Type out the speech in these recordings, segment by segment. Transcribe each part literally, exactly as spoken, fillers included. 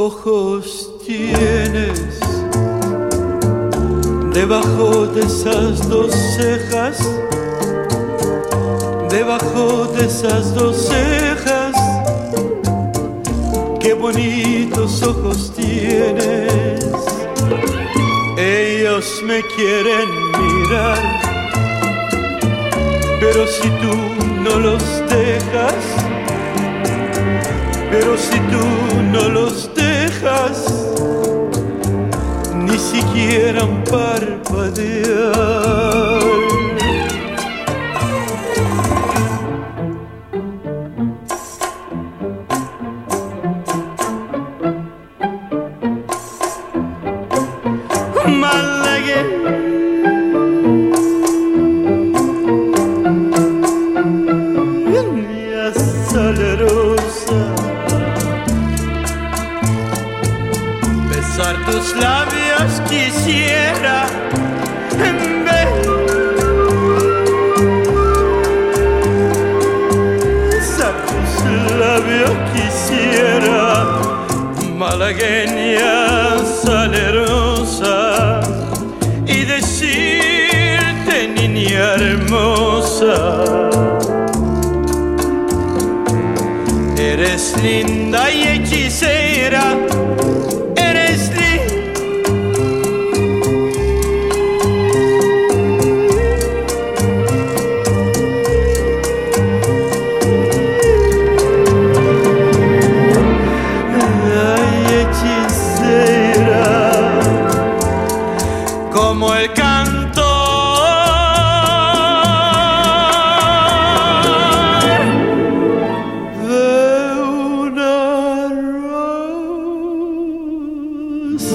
ojos tienes debajo de esas dos cejas? Debajo de esas dos cejas, qué bonitos ojos tienes. Ellos me quieren mirar, pero si tú no los dejas, pero si tú no los dejas, ni siquiera un parpadear. Tus labios quisiera besar tus labios quisiera, malagueña salerosa, y decirte, niña hermosa, eres linda y hechicera. Como el canto de una rosa.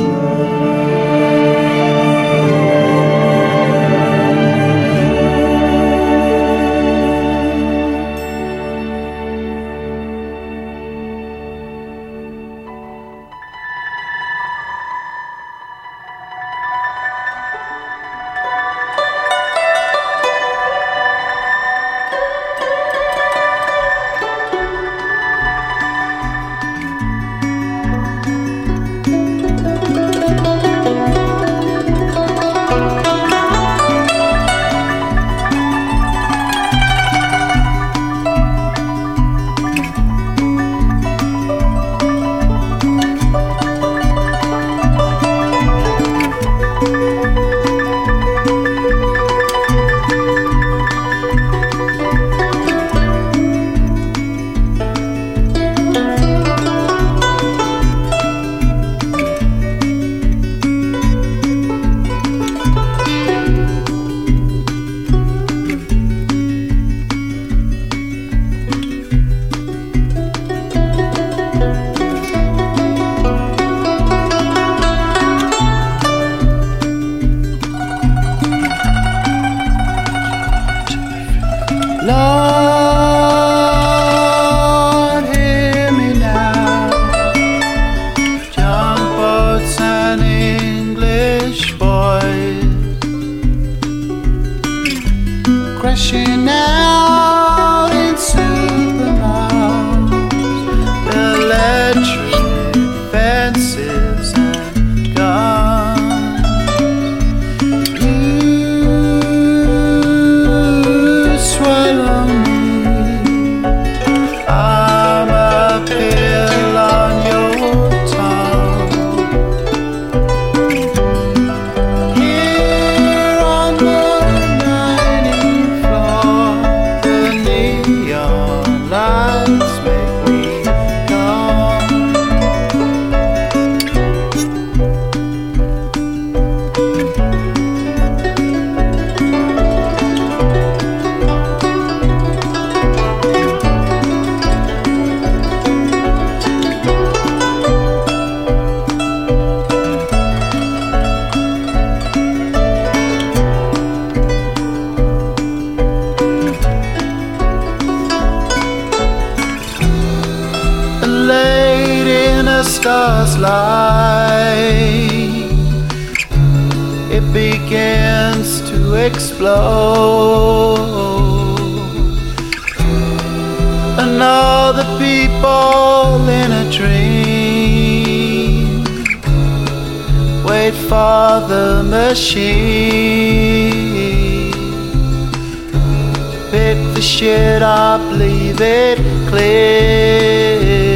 Lord, hear me now. Young boats and English boys crashing out in supermarkets, electric fences and guns. You swallow me, I'm a pill on your tongue. Here on the ninth floor, the neon lights make me come. Late in a star's light, it begins to explode, and all the people in a dream for the machine to pick the shit up, leave it clear.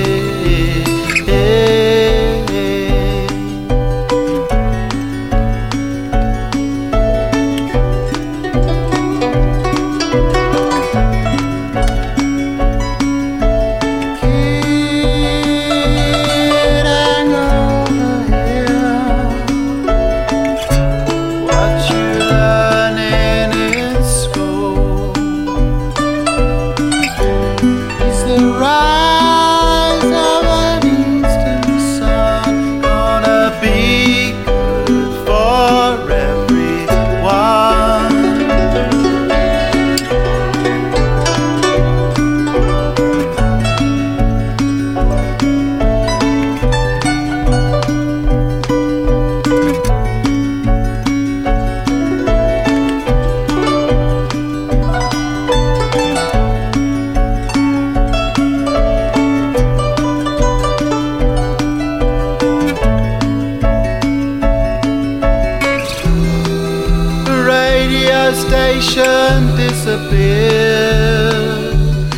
Disappeared,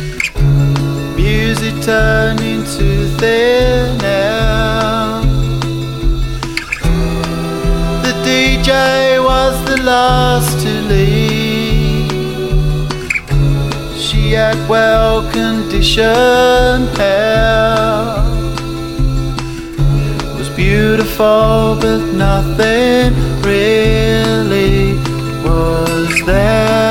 music turned into thin air. The D J was the last to leave. She had well-conditioned hair. It was beautiful, but nothing really was there.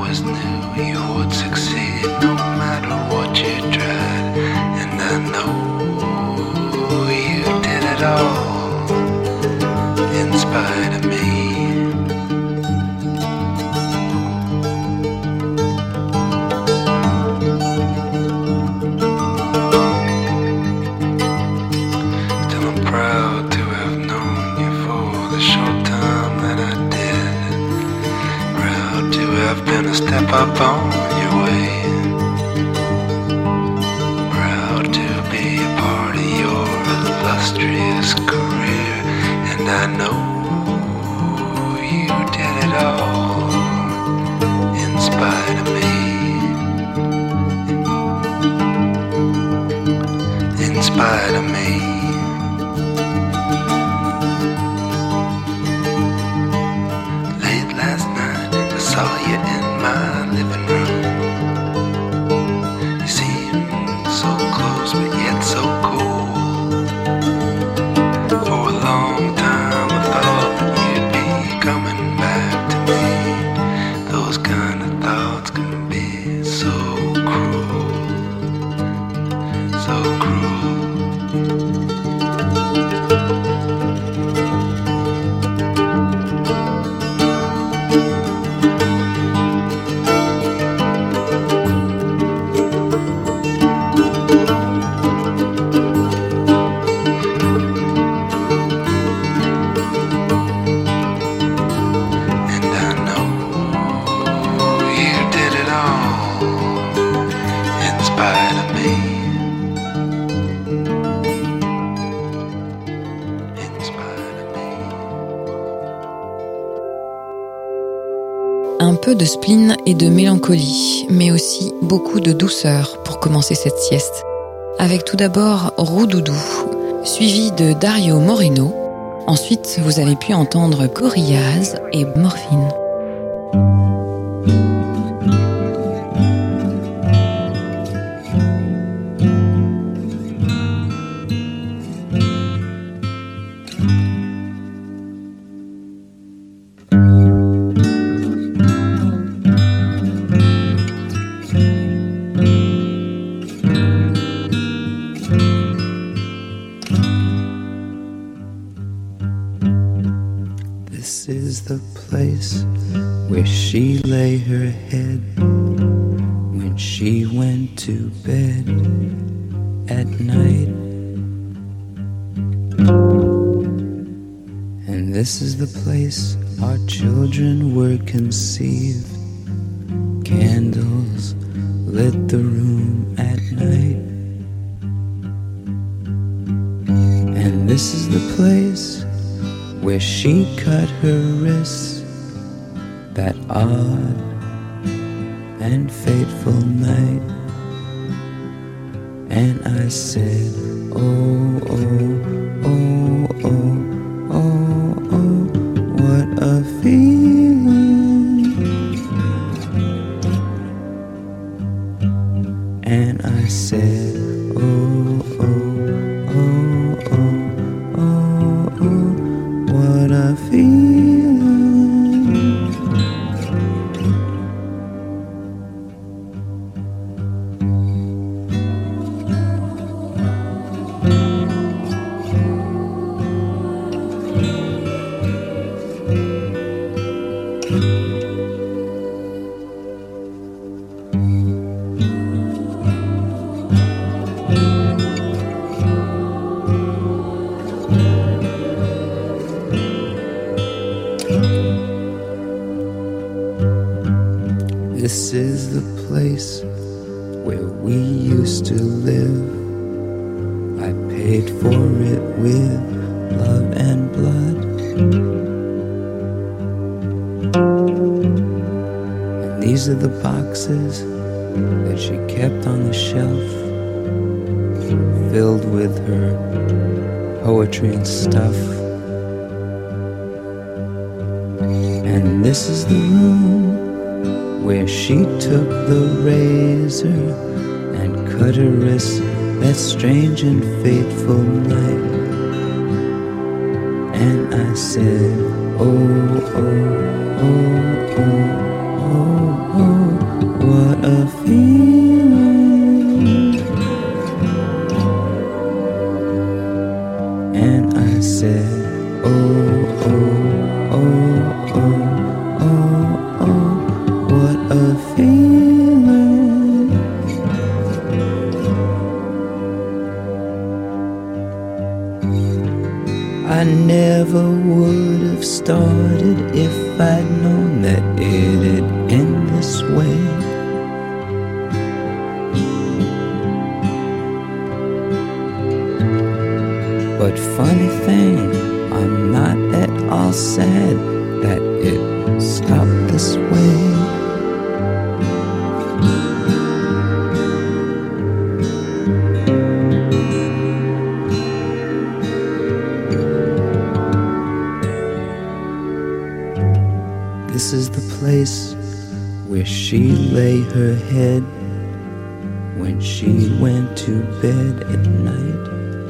you would succeed no matter what you tried, and I know I know you did it all in spite of me. In spite of me. Late last night I saw you in my living room. You seemed so close but yet so cool. For a long time I thought that you'd be coming back to me. Those kind of thoughts can be so cruel, so cruel. Un peu de spleen et de mélancolie, mais aussi beaucoup de douceur pour commencer cette sieste. Avec tout d'abord Roudoudou, suivi de Dario Moreno. Ensuite, vous avez pu entendre Gorillaz et Morphine. This is the place where she lay her head when she went to bed at night. And this is the place our children were conceived. Candles lit the room at night. And this is the place where she cut her wrists that odd and fateful night. And I said, oh, oh, oh, oh, oh, oh, what a feeling. And I said, oh, oh, oh, oh, oh, oh, what a feeling. This is the place where we used to live. I paid for it with love and blood. And these are the boxes that she kept on the shelf, filled with her poetry and stuff. And this is the room where she took the razor and cut her wrist that strange and fateful night. And I said, oh, oh, oh, oh, oh, oh, what a feeling. And I said, oh, oh, oh, oh, oh, oh, what a feeling. I never would have started if I'd known that it'd end this way. But funny thing, I'm not all sad that it stopped this way. This is the place where she lay her head when she went to bed at night.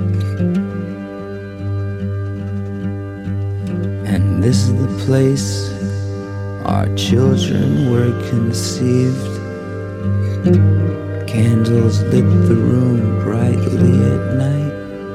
And this is the place our children were conceived. Candles lit the room brightly at night.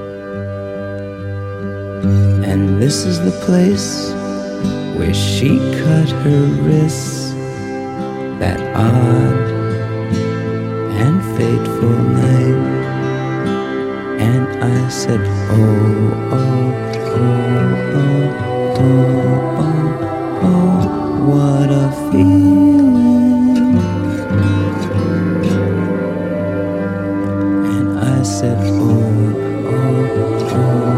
And this is the place where she cut her wrists that odd and fateful night. And I said, oh, oh, oh, oh, oh, oh, oh, what a feeling. And I said, oh, oh, oh,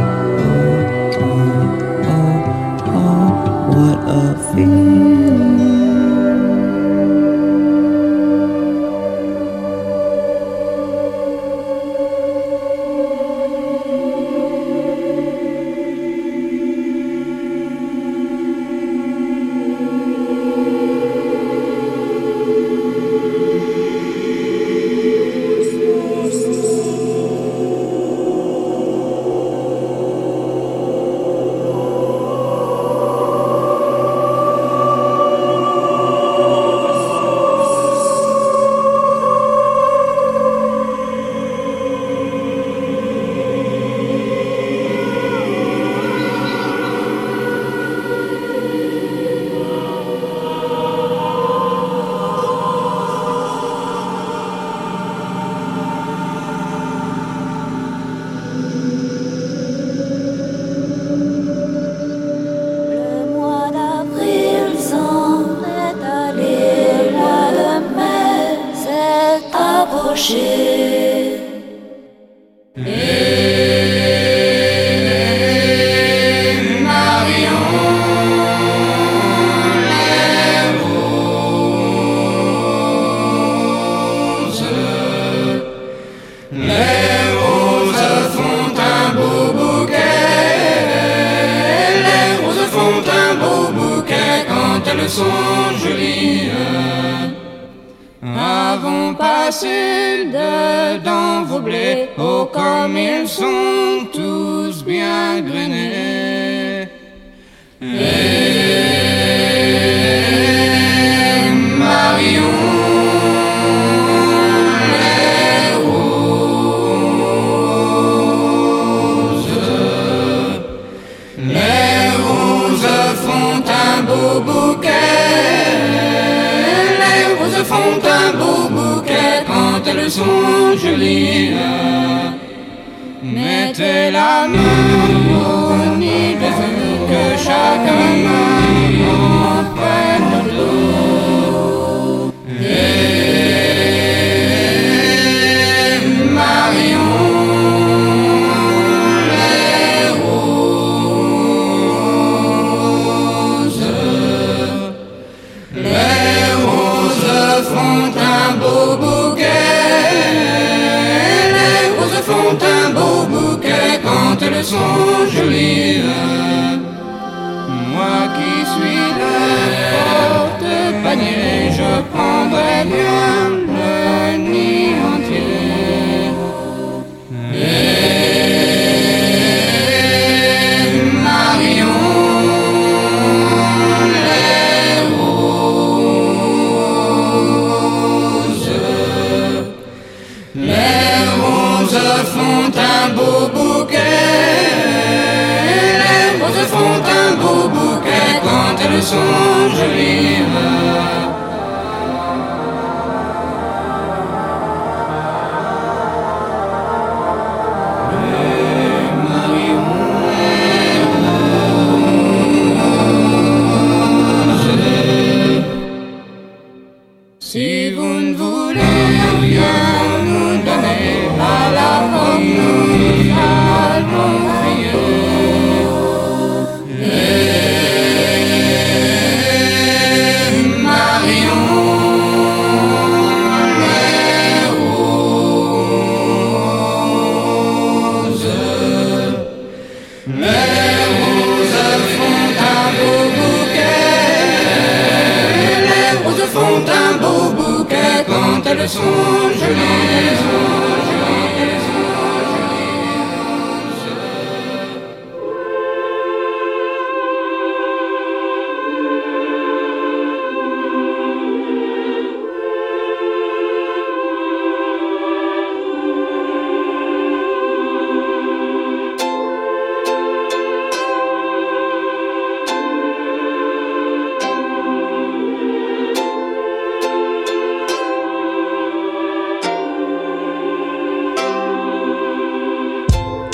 oh, oh, oh, oh, what a feeling. Rien nous donner à la mort, nous allons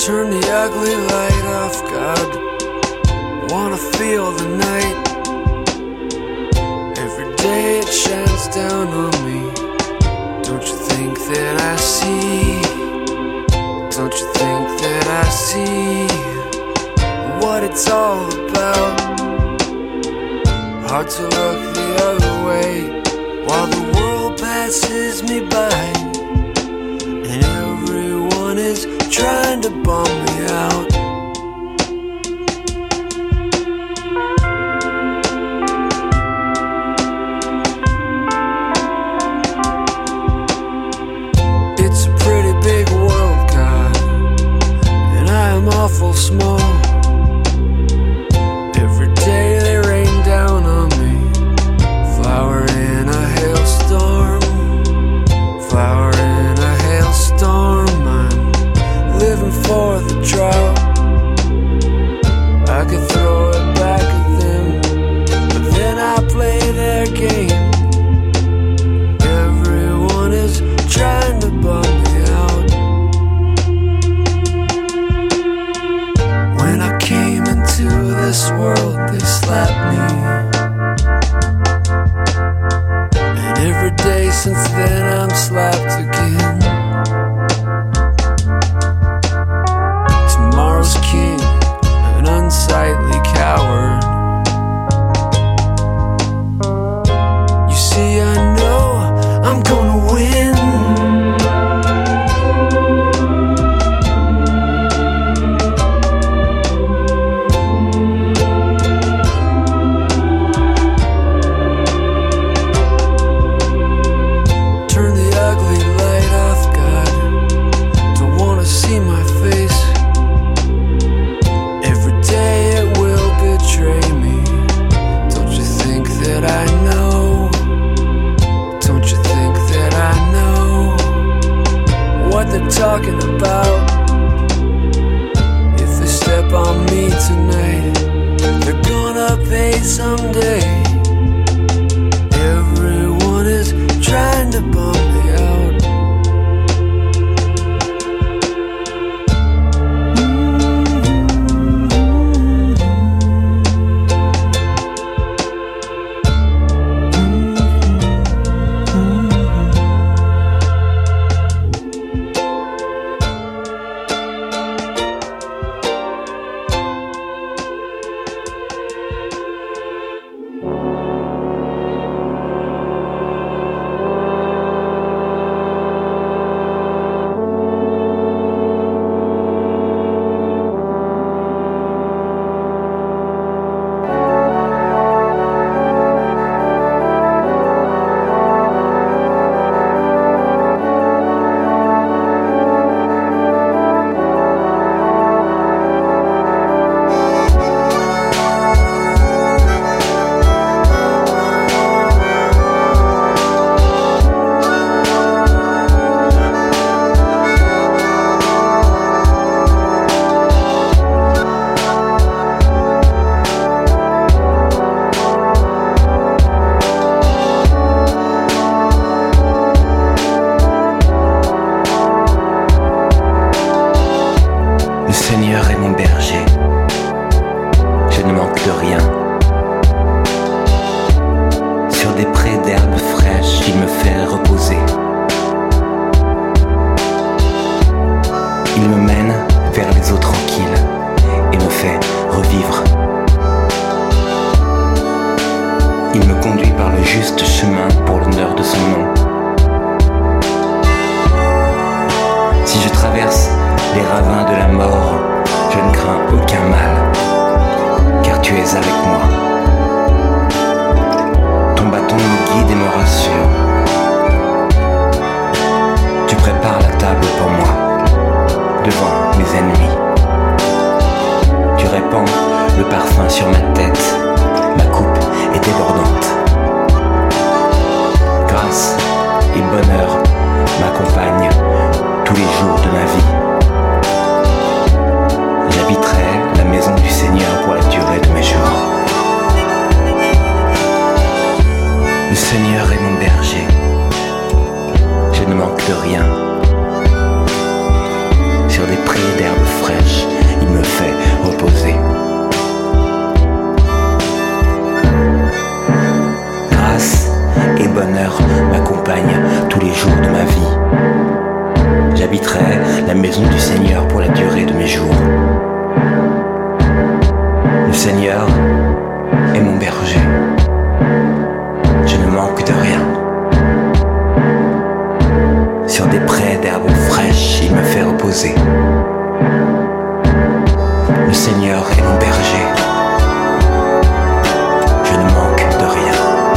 Turn the ugly light off, God. Wanna feel the night. Every day it shines down on me. Don't you think that I see? Don't you think that I see what it's all about? Hard to look the other way while the world passes me by, and everyone is trying to bum me out. It's a pretty big world, God, and I am awful small. Every day they rain down on me, flower in a hailstorm, flower in a hailstorm. I'm living for the drought. I could throw it back at them, but then I play their game. Everyone is trying to bum me out. When I came into this world, they slapped me, and every day since then I'm slapped again. Tomorrow's king, an unsightly coward. You see, I know I'm gonna win. Turn the ugly light off, God. Don't wanna see my face. Every day it will betray me. Don't you think that I know? Don't you think that I know what they're talking about? If they step on me tonight, they're gonna pay someday. Everyone is trying to bum me out. Le Seigneur est mon berger, je ne manque de rien. Sur des prés d'herbes fraîches, il me fait reposer. Il me mène vers les eaux tranquilles et me fait revivre. Il me conduit par le juste chemin pour l'honneur de son nom. Si je traverse les ravins de la mort, je ne crains aucun mal, car tu es avec moi. Ton bâton me guide et me rassure. Tu prépares la table pour moi, devant mes ennemis. Tu répands le parfum sur ma tête, ma coupe est débordante. Grâce et bonheur m'accompagnent tous les jours de ma vie. J'habiterai la maison du Seigneur pour la durée de mes jours. Le Seigneur est mon berger, je ne manque de rien. Sur des prés d'herbes fraîches, j'habiterai la maison du Seigneur pour la durée de mes jours. Le Seigneur est mon berger. Je ne manque de rien. Sur des prés d'herbes fraîches, il me fait reposer. Le Seigneur est mon berger. Je ne manque de rien.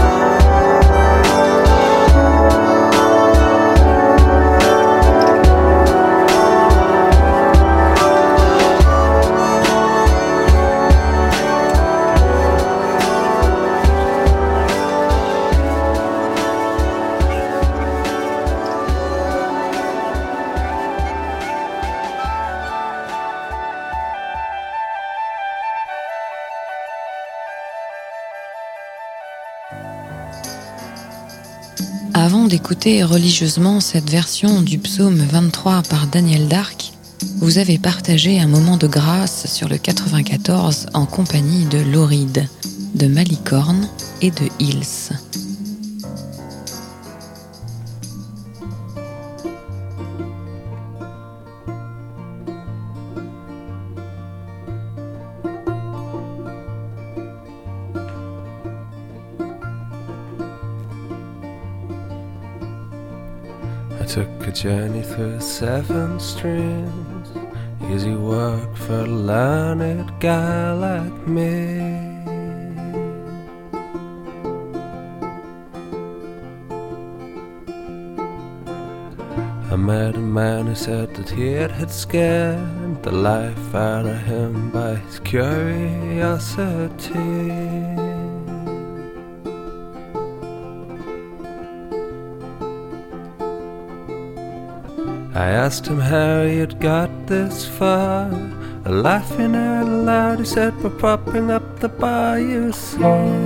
Avant d'écouter religieusement cette version du psaume vingt-trois par Daniel Darc, vous avez partagé un moment de grâce sur le quatre-vingt-quatorze en compagnie de Lauride, de Malicorne et de Hills. I took a journey through seven streams, easy work for a learned guy like me. I met a man who said that he had, had scared the life out of him by his curiosity. I asked him how he had got this far, laughing out loud. He said, "We're propping up the bar, you see."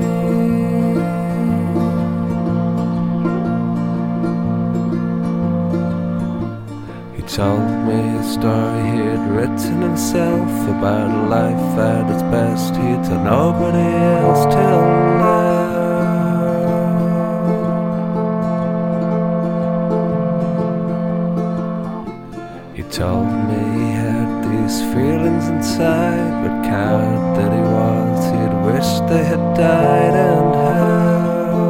He told me a story he had written himself about a life at its best he'd told nobody else till now. He told me he had these feelings inside, but coward that he was, he'd wished they had died, and how.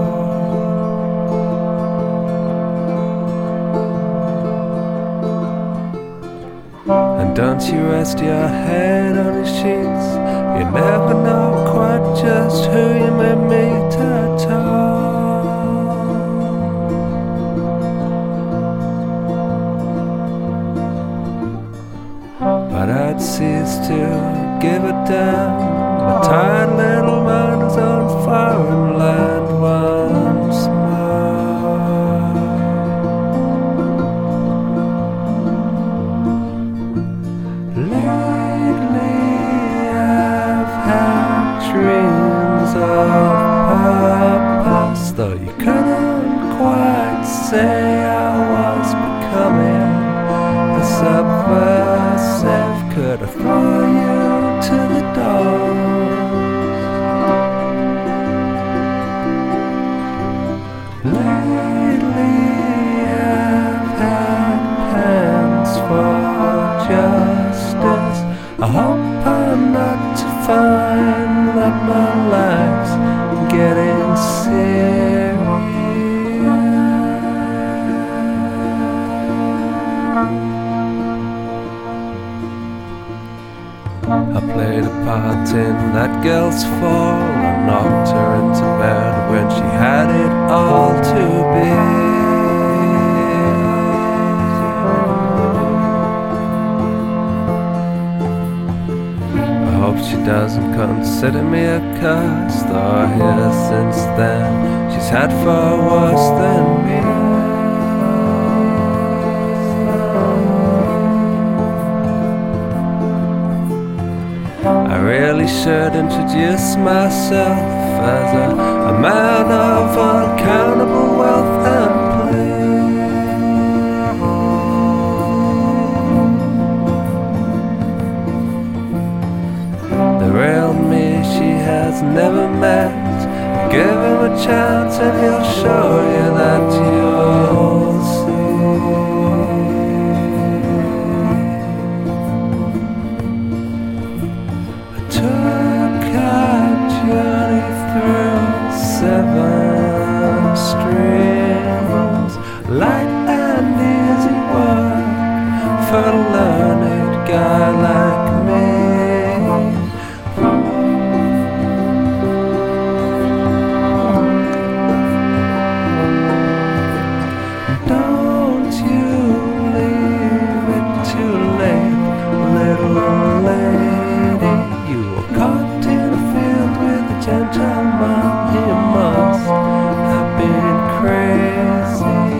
And don't you rest your head on your sheets, you never know quite just who you may meet at all. But I'd cease to give a damn. My tired little mind is on foreign land once more. Lately I've had dreams of purpose, though you couldn't quite say I was becoming the subversive. Could I throw you to the dogs? Lately I've had plans for justice. I hope I'm not to find that my life's getting serious. I played a part in that girl's fall. I knocked her into bed when she had it all to be. I hope she doesn't consider me a curse, though here since then she's had far worse than me. I really should introduce myself as a, a man of uncountable wealth and play. The real me she has never met. Give him a chance and he'll show you that you'll see. for a learned guy like me. Don't you leave it too late, little lady. You were caught in a field with a gentleman. He must have been crazy.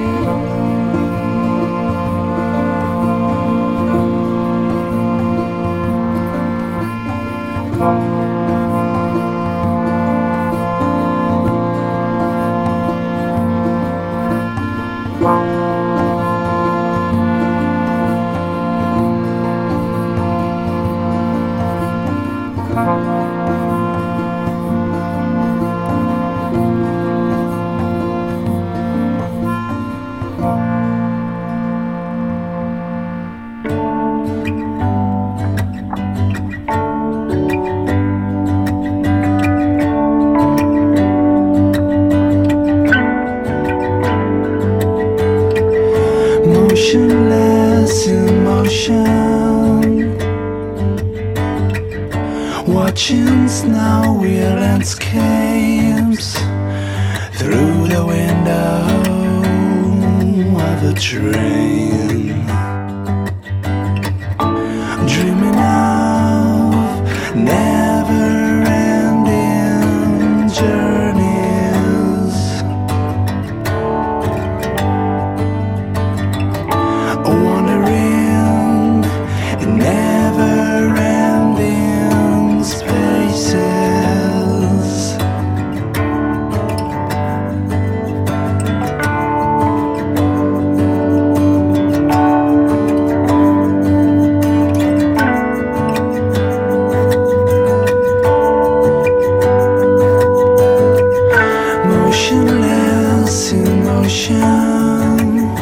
Motionless in motion, watching snowy landscapes through the window of a train, dreaming of never-ending journeys, wandering in never-ending spaces. Motionless in motion,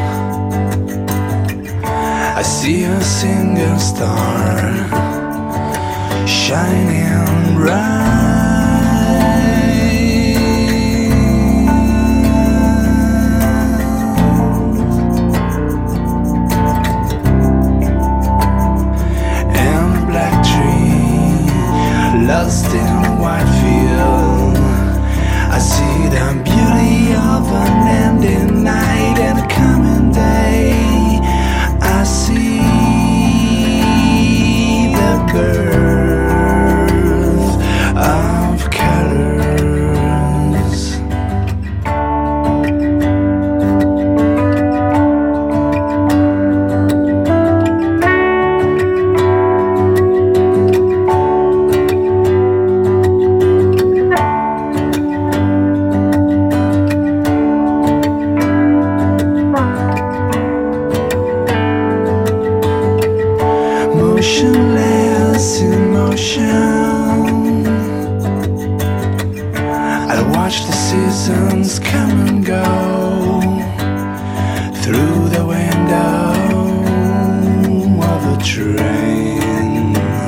I see a single star shining bright, and a black tree lost in a white field. I see the beauty of an ending night and a coming day. I see the birth of colors. Motionless in motion, I watch the seasons come and go through the window of a train,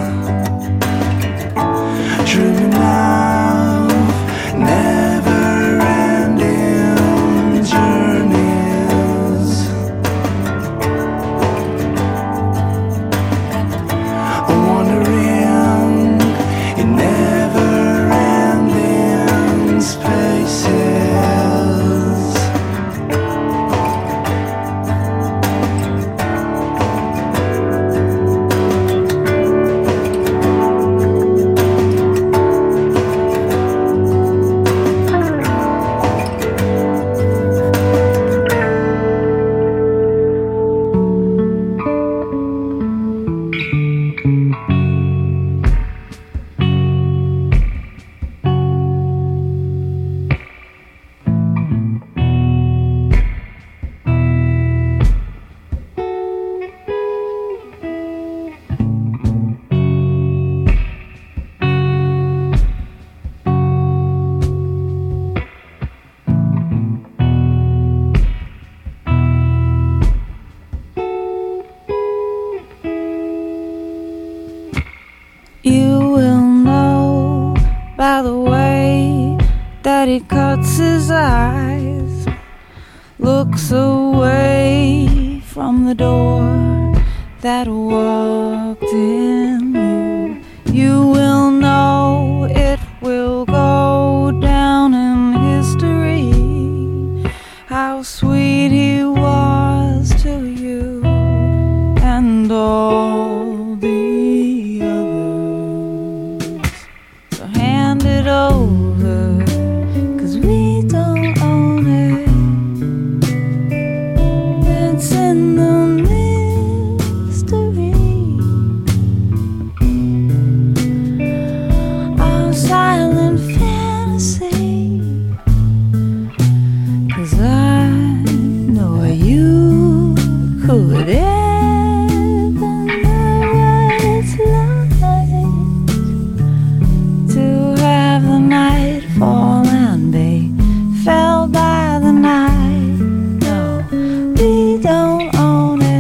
dreaming of never-ending journeys, wandering in never-ending spaces. by the way that he cuts his eyes, looks away from the door that walked in you. You will know it will go down in history, how sweet he was to you and all the others. So hand it over, 'cause we don't own it. It's in the mystery, our silent fantasy. 'Cause I know you could ever know what it's like to have the night fall and be felled by the night. No, we don't own it.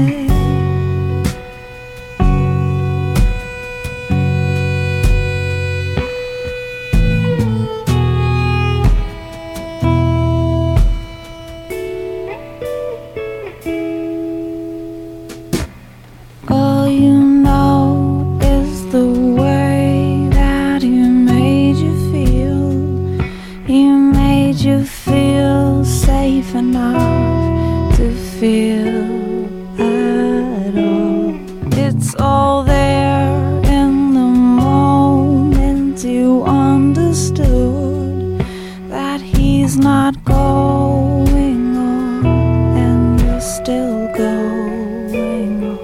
All you know is the way that he made you feel. He made you feel safe enough to feel at all. It's all there in the moment you understood that he's not going on and you're still going on.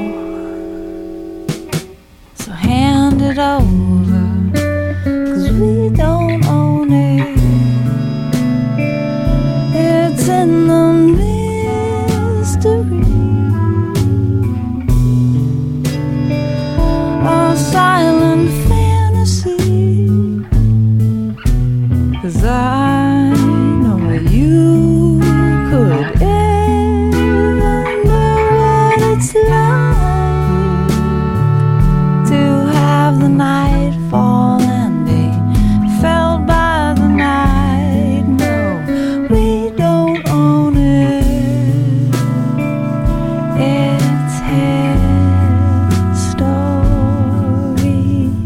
So hand it over, 'cause we don't own it. It's in the mystery, our silent fantasy. 'Cause I know you could ever know what it's like to have the night fall and be felled by the night. No, we don't own it. It's his story.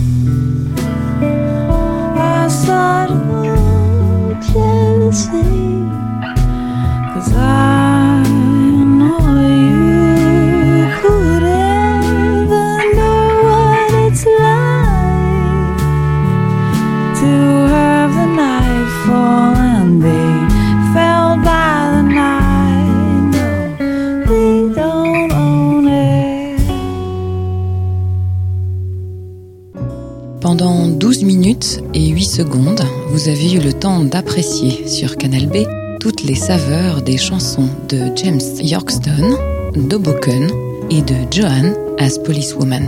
Our subtle jealousy. 'Cause I know you could ever know what it's like to have the night fall and be felled by the night. No, we don't own it. Pendant douze minutes et huit secondes, vous avez eu le temps d'apprécier sur Canal B toutes les saveurs des chansons de James Yorkston, d'Hoboken et de Joanne as Policewoman.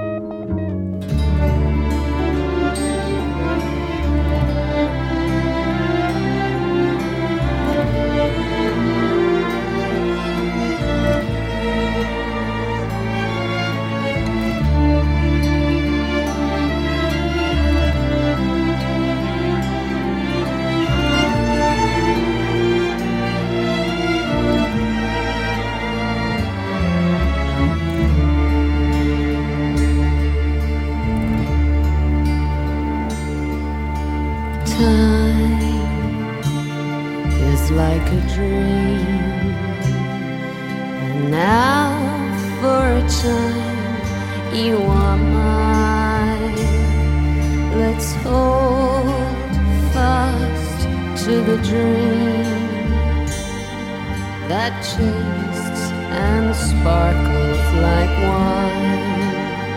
Time is like a dream, and now for a time you are mine. Let's hold fast to the dream that tastes and sparkles like wine.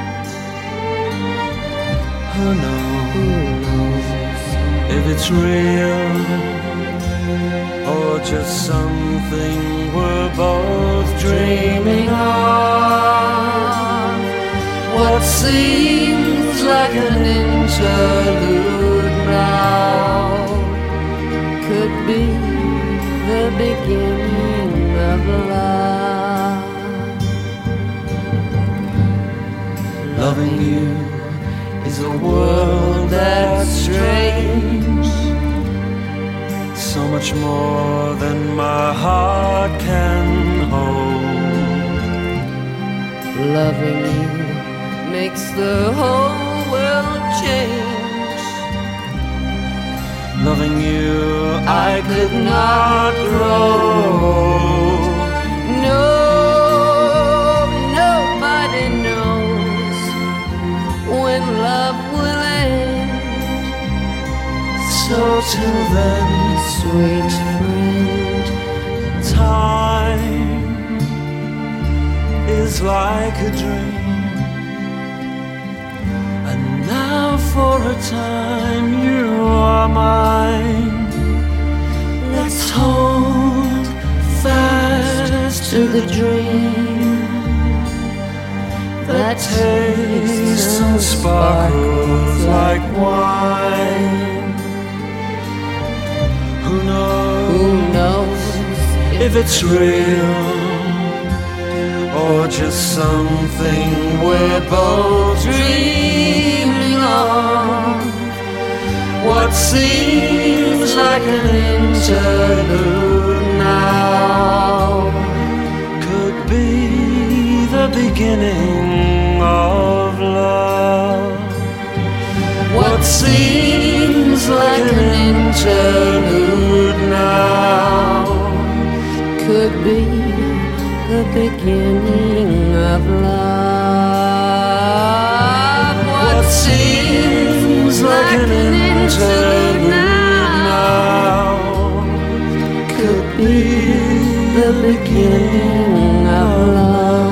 Who knows if it's real or just something we're both dreaming of? What seems like an interlude now could be the beginning of love. Loving you is a world that's strange, so much more than my heart can hold. Loving you makes the whole world change. Loving you, I could not grow. No, nobody knows when love will end. So till then, sweet friend, time is like a dream, and now for a time you are mine. Let's hold fast to the dream that tastes and sparkles like wine. Who knows, who knows if it's real or just something we're both dreaming of. What seems like an interlude now could be the beginning of love. What seems like an interlude now could be the beginning of love. What seems like an interlude now could be the beginning of love.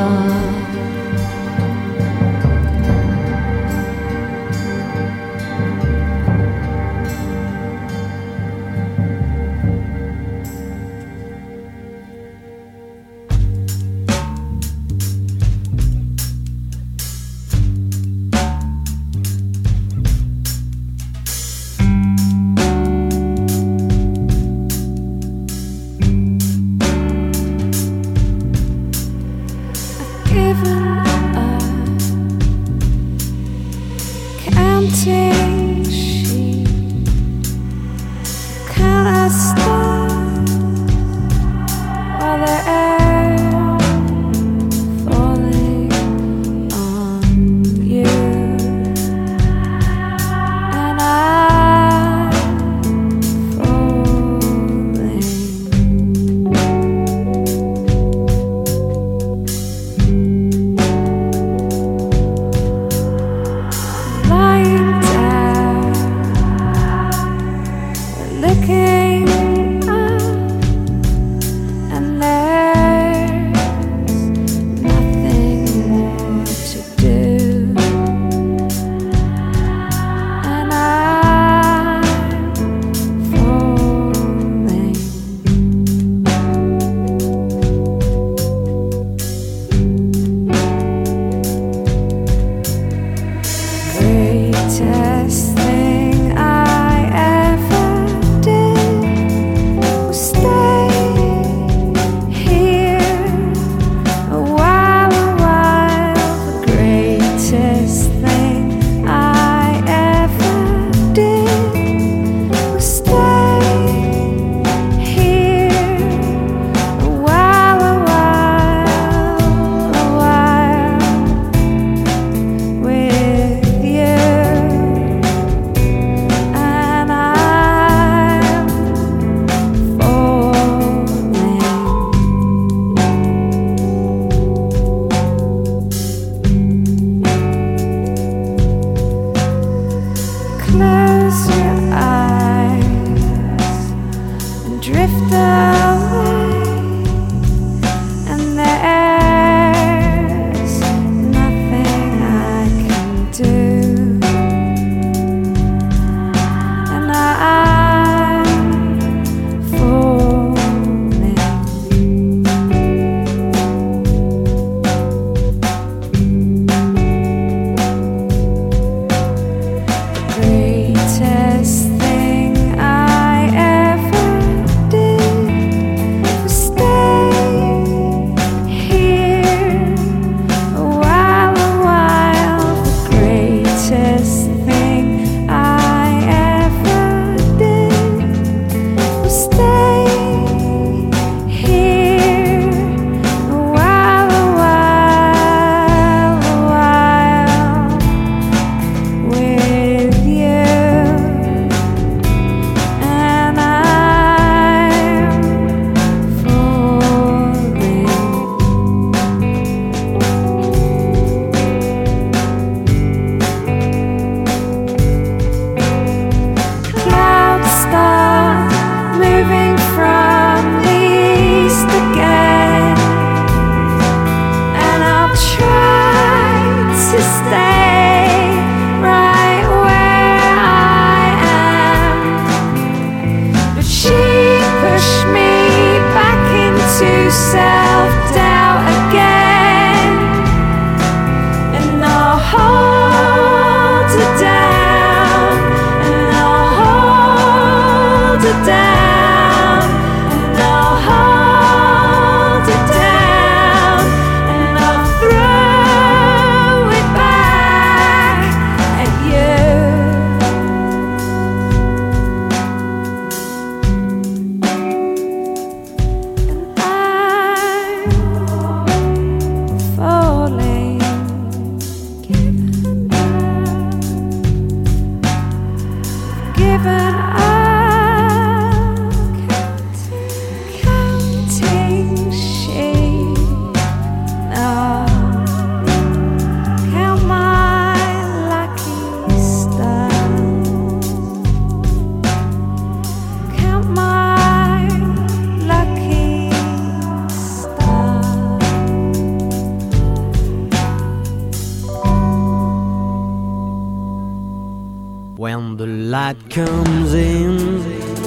When the light comes in,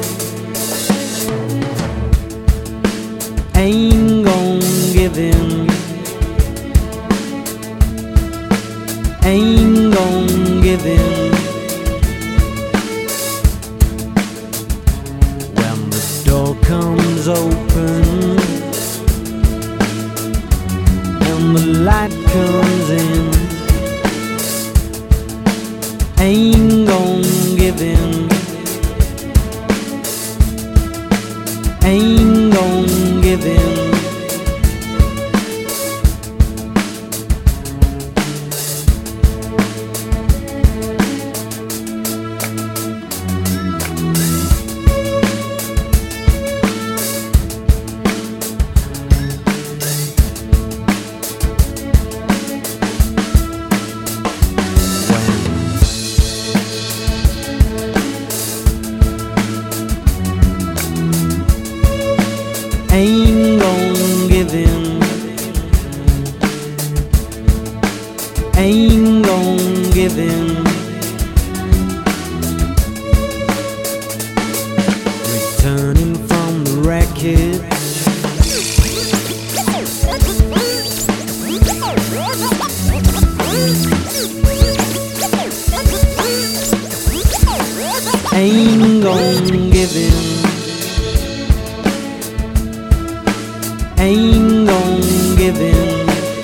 ain't gon' give in, ain't gon' give in. When the door comes open and the light comes in, ain't gon' give in, ain't gon' give in. Ain't gon' give in, ain't gon' give in. Returning from the wreckage, ain't gon' give in, ain't gon' give in.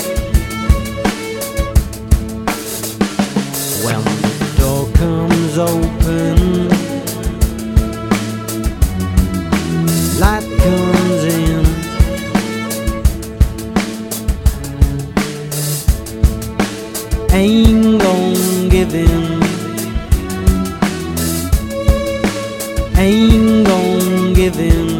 When the door comes open, light comes in, ain't gon' give in, ain't gon' give in.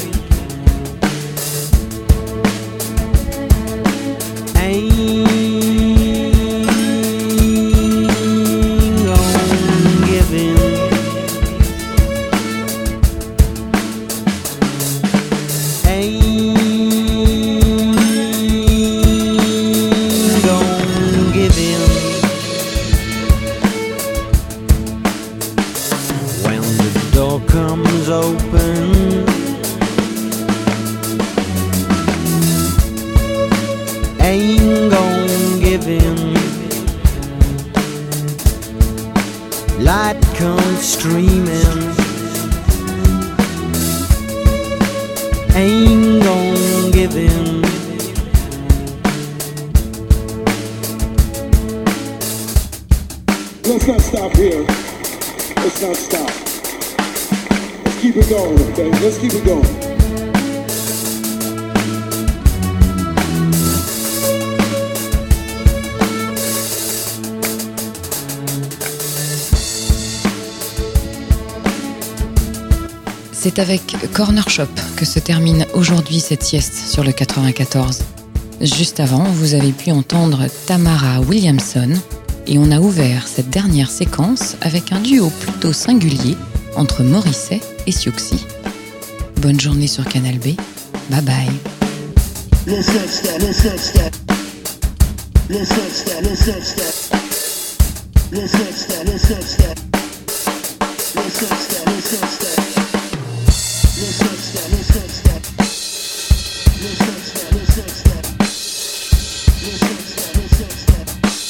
Comes open, ain't gon' give in, light comes streaming, ain't gon' give in. Let's not stop here. Let's not stop. Keep it going, okay? Let's keep it going. C'est avec Corner Shop que se termine aujourd'hui cette sieste sur le quatre-vingt-quatorze. Juste avant, vous avez pu entendre Tamara Williamson et on a ouvert cette dernière séquence avec un duo plutôt singulier entre Morrissey et Siouxsie. Bonne journée sur Canal B. Bye bye. Let's not stop, let's not stop. Let's not stop, let's not stop. Let's not stop, let's not stop. Let's not stop, let's not stop. Let's not stop, let's not stop. Let's not stop, let's not stop. Let's not stop, let's not stop.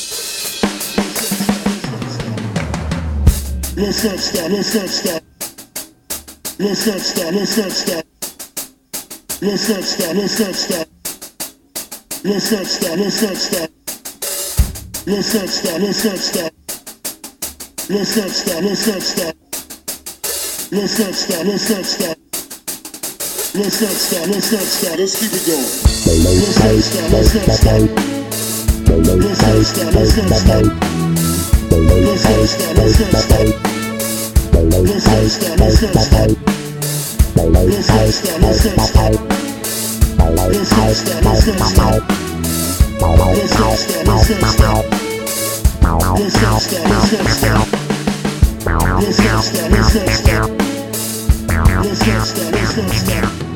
Let's not stop, let's not stop. Let's not stop, let's not stop. Let's not stop, let's not stop. Let's not stop, let's not stop. Let's not stop, let's not stop. Let's not stop, let's not stop. Let's not stop, let's not stop. Let's not stop, let's not stop. Let's keep it going. Let's not stop, let's not stop. Let's not stop, let's not stop. Let's not stop, let's not stop. Let's not stop, let's not stop. Let's not stop, let's not stop. Let's not stop, let's not stop. Let's not stop, let's not stop. Let's not stop, let's not stop. Let's not stop, let's not stop. Let's not stop, let's not stop.